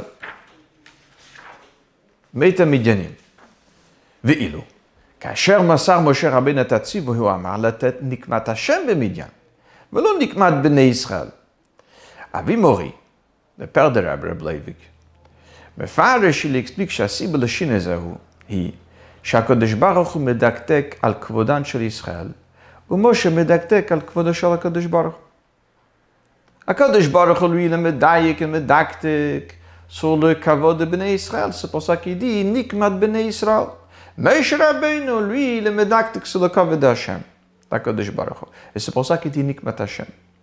meita Midianim. ואילו, כאשר מסר משה רבינו את הציווי, הוא אמר לתת נקמת השם במדיין, ולא נקמת בני ישראל. אבי מורי, le père de Rabbi Leivik, מפרש להספיק שהסיבה לשינוי זהו היא שהקדוש ברוך הוא מדקדק על כבודן של ישראל, ומשה מדקדק על כבודו של הקדוש ברוך הוא. הקדוש ברוך הוא lui מדייק ומדקדק sur le kavod de Bnei Israël. C'est pour ça qu'il dit Nikmat Bnei Israël. Moshe Rabbeinu, lui, il est médactique sur le kavod d'Hashem, d'Akadosh Baruch Hu. Et c'est pour ça qu'il dit Nikmat Hashem.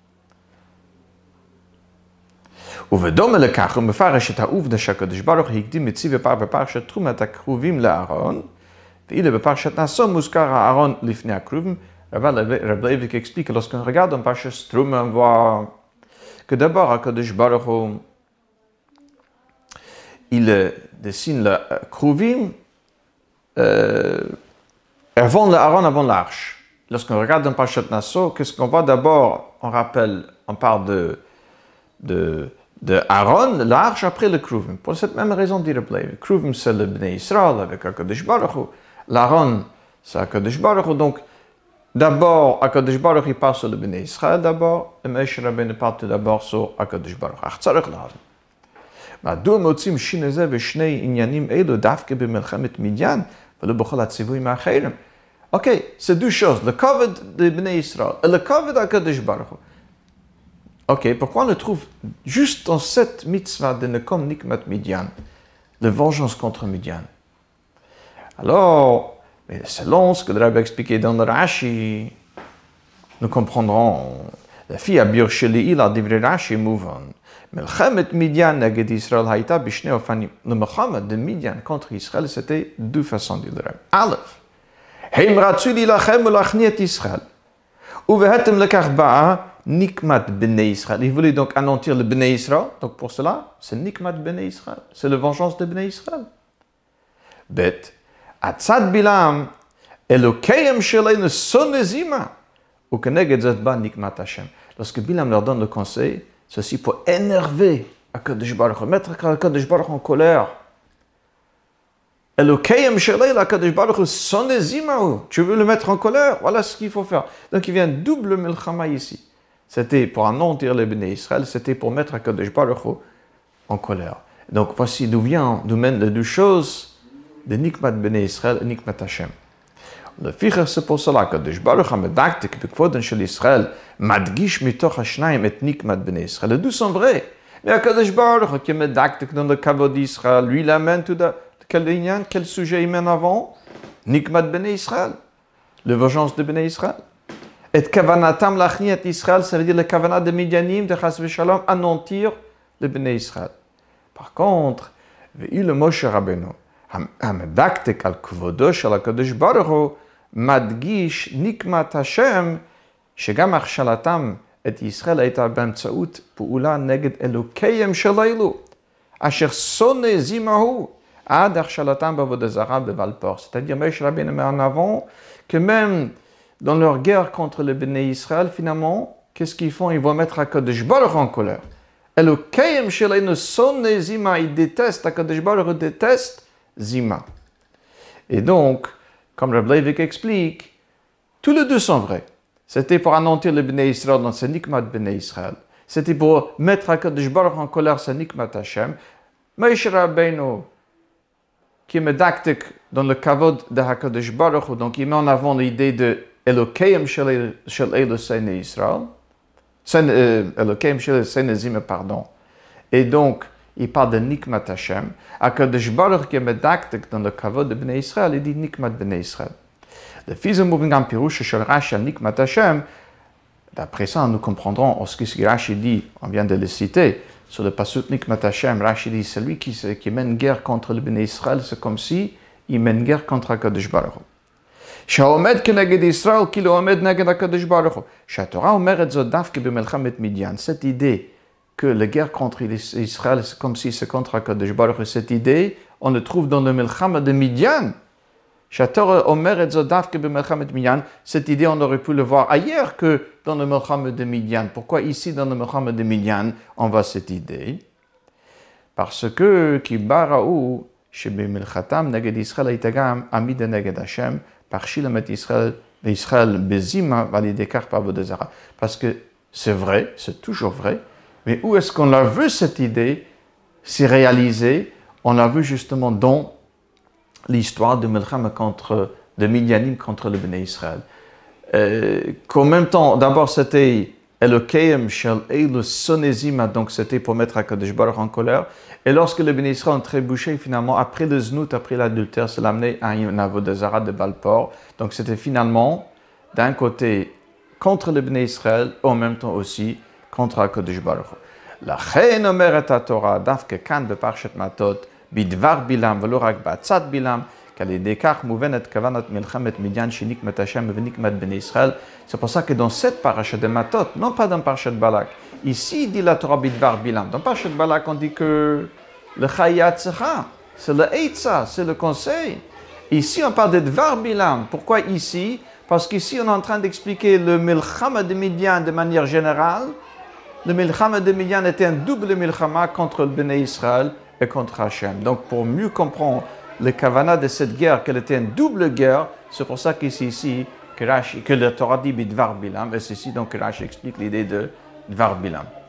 ובדומה לכך הוא מפרש את העובדה שהקדוש ברוך הוא הקדים מציב בפרשת תרומת הכרובים לאהרון, ואילו בפרשת נשא מוזכר האהרון לפני הכרובים. Rabbi Leivik explique que lorsqu'on regarde en parchat Truma, on voit que d'abord הקדוש ברוך הוא il dessine le Kruvim avant l'Aaron, avant l'arche. Lorsqu'on regarde dans Parashat Nassau, qu'est-ce qu'on voit d'abord? On parle de Aaron, l'arche, après le Kruvim. Pour cette même raison, dit Rabbi Leivik. Kruvim, c'est le Bnei Israël avec Akadosh Baruch Hu. L'Aaron, c'est Akadosh Baruch Hu. Donc, d'abord, Akadosh Baruch Hu parle sur le Bnei Israël d'abord, et Moshe Rabbeinu parle tout d'abord sur Akadosh Baruch Hu. Tzarech l'Aaron. מדוע מוצאים שינוי זה ושני עניינים אלו דווקא במלחמת מדיין ולא בכל הציוויים האחרים? אוקיי, c'est deux choses, le kavod de Bnei Israël et le kavod d'Akadosh Baruch Hu. Ok, pourquoi on le trouve juste dans cette mitzvah de Nekom Nikmat Midian, la vengeance contre Midian? Alors, mais selon ce que le Rabbi a expliqué dans le Rashi, nous comprendrons. La fille à Bir Sheli, il a dit Rashi Mouvan. Melchamet Midian naged Israël haïta bishne ofanim. Le Melchamet de Midian contre Israël, c'était deux façons, dit le Rabbi. Aleph. Heim ratzu lilachem ulachniet Israël. Uvehetem lekach ba'a nikmat bnei Israël. Il voulait donc anéantir le bnei Israël. Donc pour cela, c'est nikmat bnei Israël. C'est la vengeance de bnei Israël. Bet. Atzad bilam elokayem sheleinu sonezima. Ou keneged zet ba nikmat Hashem. Lorsque Bilam leur donne le conseil, ceci pour énerver Akadosh Baruch Hu, mettre Akadosh Baruch Hu en colère. Elokayem shelei Akadosh Baruch Hu sonezimahu. Tu veux le mettre en colère? Voilà ce qu'il faut faire. Donc il vient double milchama ici. C'était pour anéantir les Bnei Israël, c'était pour mettre Akadosh Baruch Hu en colère. Donc voici d'où mènent les deux choses de Nikmat Bnei Israël et Nikmat Hashem. Le ficher, c'est pour cela que Akadosh Baruch Hu medaktik bekvoden shel Israël madgish mitoch hashnaim et nikmat bnei Israël. Les deux sont vrais. Mais Akadosh Baruch Hu qui medaktik dans le kavod d'Israël, lui il amène tout quel sujet il mène avant? Nikmat bnei Israël, la vengeance de bnei Israël. Et kavanatam lachniet Israël, ça veut dire le kavanat de Midianim, de chas v'shalom, anéantir le bnei Israël. Par contre, ve'il Moshe Rabbeinu המדקדק על כבודו של הקדוש ברוך הוא, מדגיש נקמת השם, שגם הכשלתם את ישראל הייתה באמצעות פעולה נגד אלוקיהם של אלו, אשר שונא זימהו עד הכשלתם בעבודה זרה בבעל פור. C'est-à-dire, Moshe Rabbeinu met en avant que même dans leur guerre contre les Bnei Israël, finalement, qu'est-ce qu'ils font? Ils vont mettre Akadosh Baruch Hu en colère. Elokayem shel elnu sonnei zima, ils détestent, Akadosh Baruch Hu déteste Zima. Et donc, comme Rabbi Leivik explique, tous les deux sont vrais. C'était pour anéantir le Bnei Israël dans ce Nikmat Bnei Israël. C'était pour mettre Akadosh Baruch Hu en colère, ce Nikmat Hashem. Moshe Rabbeinu, qui est médactique dans le kavod de HaKadosh Baruch Hu, donc il met en avant l'idée de Elokeim shel Elu Seinei Israël, Elokeim shel Seinei pardon. Et donc, il parle de Nikmat Hashem. HaKadosh Baruch Hu qui est médactique dans le kavod de Bnei Israël, il dit Nikmat Bnei Israël. Le fils de Mouvingam Pirouche shel Rashi Nikmat Hashem, d'après ça, nous comprendrons ce que Rashi dit, on vient de le citer, sur le pasuk Nikmat Hashem, Rashi dit, celui qui mène guerre contre le Bnei Israël, c'est comme si il mène guerre contre HaKadosh Baruch Hu. Shaomed keneged Israël, ki lo omed neged HaKadosh Baruch Hu. Shatorah omeret zot davke b'melchamet Midian. Cette idée que la guerre contre Israël, c'est comme si c'est contre HaKadosh Baruch Hu, cette idée, on le trouve dans le Melchama de Midian. Shatorah omeret zot davke b'melchamet Midian. Cette idée, on aurait pu le voir ailleurs que dans le Melchama de Midian. Pourquoi ici, dans le Melchama de Midian, on voit cette idée? Parce que, ki bara'u, shebe milchatam neged Israël itagam amid neged Hashem, par shilamet Israël bezima validekar pavodezara. Parce que c'est vrai, c'est toujours vrai, mais où est-ce qu'on l'a vu cette idée s'y réaliser? On l'a vu justement dans l'histoire de Melchama de Midianim contre le Bnei Israël. Qu'en même temps, d'abord c'était Elokeim shel Elu Sonezima, donc c'était pour mettre HaKadosh Baruch en colère. Et lorsque le Bnei Israël ont trébuché, finalement, après le znout, après l'adultère, ça l'a amené à une avodazara de Balpor. Donc c'était finalement, d'un côté, contre le Bnei Israël, et en même temps aussi contre HaKadosh Baruch. La chen omeret HaTorah, davke kan beparshat matot, bidvar bilam, velo rak ba'atzat bilam, c'est pour ça que dans cette parasha de Matot, non pas dans parasha de Balak, ici il dit la Torah bidvar bilam. Dans parasha de Balak, on dit que le chayat c'est le eitza, c'est le conseil. Ici on parle de dvar bilam. Pourquoi ici? Parce qu'ici on est en train d'expliquer le milchama de Midian de manière générale. Le milchama de Midian était un double milchama contre le Bnei Israël et contre Hachem. Donc pour mieux comprendre le kavana de cette guerre, qu'elle était une double guerre, c'est pour ça qu'ici, que le Torah dit Bidvar Bilam, et c'est ici donc que Rashi explique l'idée de Dvar Bilam.